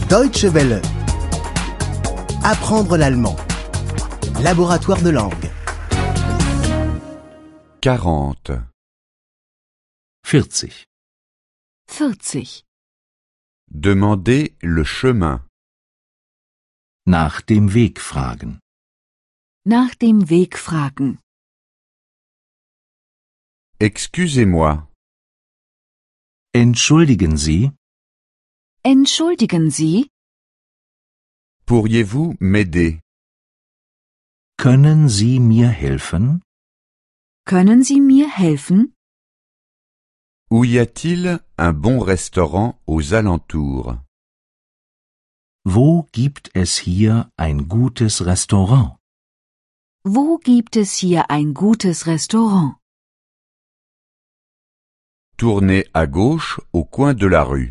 Deutsche Welle. Apprendre l'allemand. Laboratoire de langue. 40. 40. 40. Demandez le chemin. Nach dem Weg fragen. Nach dem Weg fragen. Excusez-moi. Entschuldigen Sie, Entschuldigen Sie, Pourriez-vous m'aider? können Sie mir helfen? können Sie mir helfen? Où y a-t-il un bon restaurant aux alentours? Wo gibt es hier ein gutes Restaurant? Wo gibt es hier ein gutes Restaurant? Tournez à gauche au coin de la rue.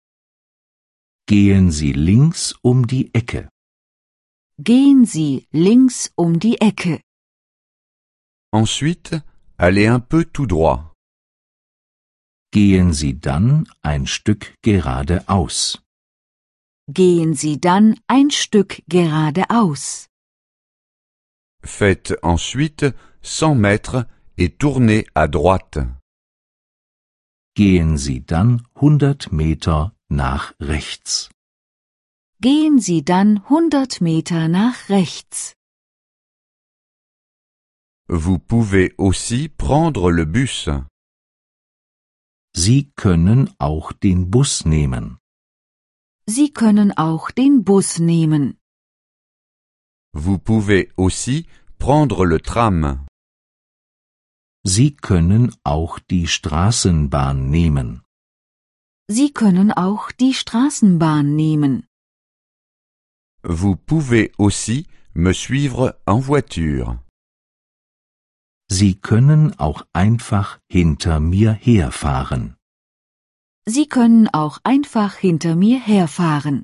Gehen Sie links um die Ecke. Gehen Sie links um die Ecke. Ensuite, allez un peu tout droit. Gehen Sie dann ein Stück geradeaus. Gehen Sie dann ein Stück geradeaus. Faites ensuite 100 mètres et tournez à droite. Gehen Sie dann 100 Meter nach rechts. Gehen Sie dann 100 Meter nach rechts. Vous pouvez aussi prendre le bus. Sie können auch den Bus nehmen. Sie können auch den Bus nehmen. Vous pouvez aussi prendre le tram. Sie können auch die Straßenbahn nehmen. Sie können auch die Straßenbahn nehmen. Vous pouvez aussi me suivre en voiture. Sie können auch einfach hinter mir herfahren. Sie können auch einfach hinter mir herfahren.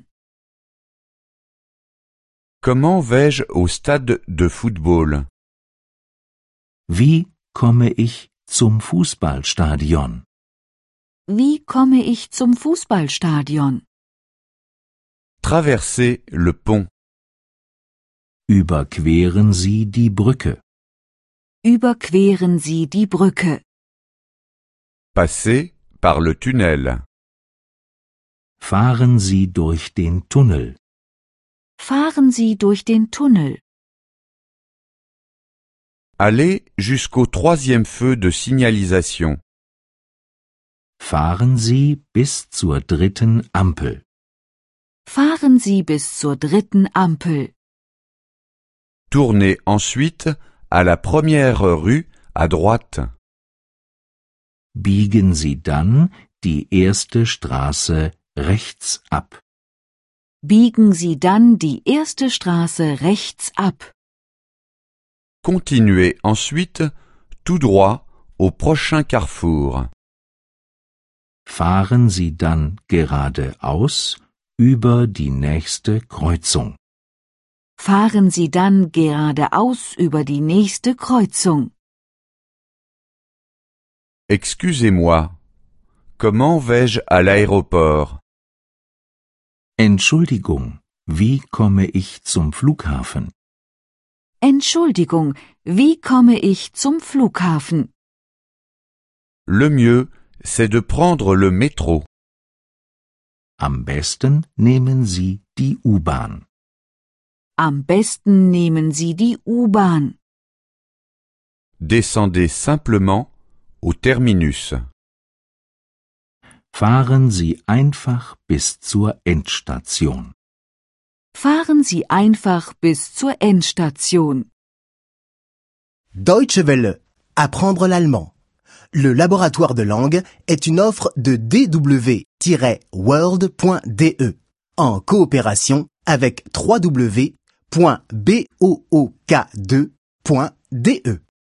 Comment vais-je au stade de football? Wie komme ich zum Fußballstadion? Wie komme ich zum Fußballstadion? Traversez le pont. Überqueren Sie die Brücke. Überqueren Sie die Brücke. Passez par le tunnel. Fahren Sie durch den Tunnel. Fahren Sie durch den Tunnel. Allez jusqu'au 3e feu de signalisation. Fahren Sie bis zur 3. Ampel. Fahren Sie bis zur 3. Ampel. Tournez ensuite à la 1re rue à droite. Biegen Sie dann die 1. Straße rechts ab. Biegen Sie dann die 1. Straße rechts ab. Continuez ensuite tout droit au prochain carrefour. Fahren Sie dann geradeaus über die nächste Kreuzung. Fahren Sie dann geradeaus über die nächste Kreuzung. Excusez-moi. Comment vais-je à l'aéroport? Entschuldigung, wie komme ich zum Flughafen? Entschuldigung, wie komme ich zum Flughafen? Le mieux, c'est de prendre le métro. Am besten nehmen Sie die U-Bahn. Am besten nehmen Sie die U-Bahn. Descendez simplement au terminus. Fahren Sie einfach bis zur Endstation. Fahren Sie einfach bis zur Endstation. Deutsche Welle. Apprendre l'allemand. Le laboratoire de langue est une offre de dw-world.de en coopération avec www.book2.de.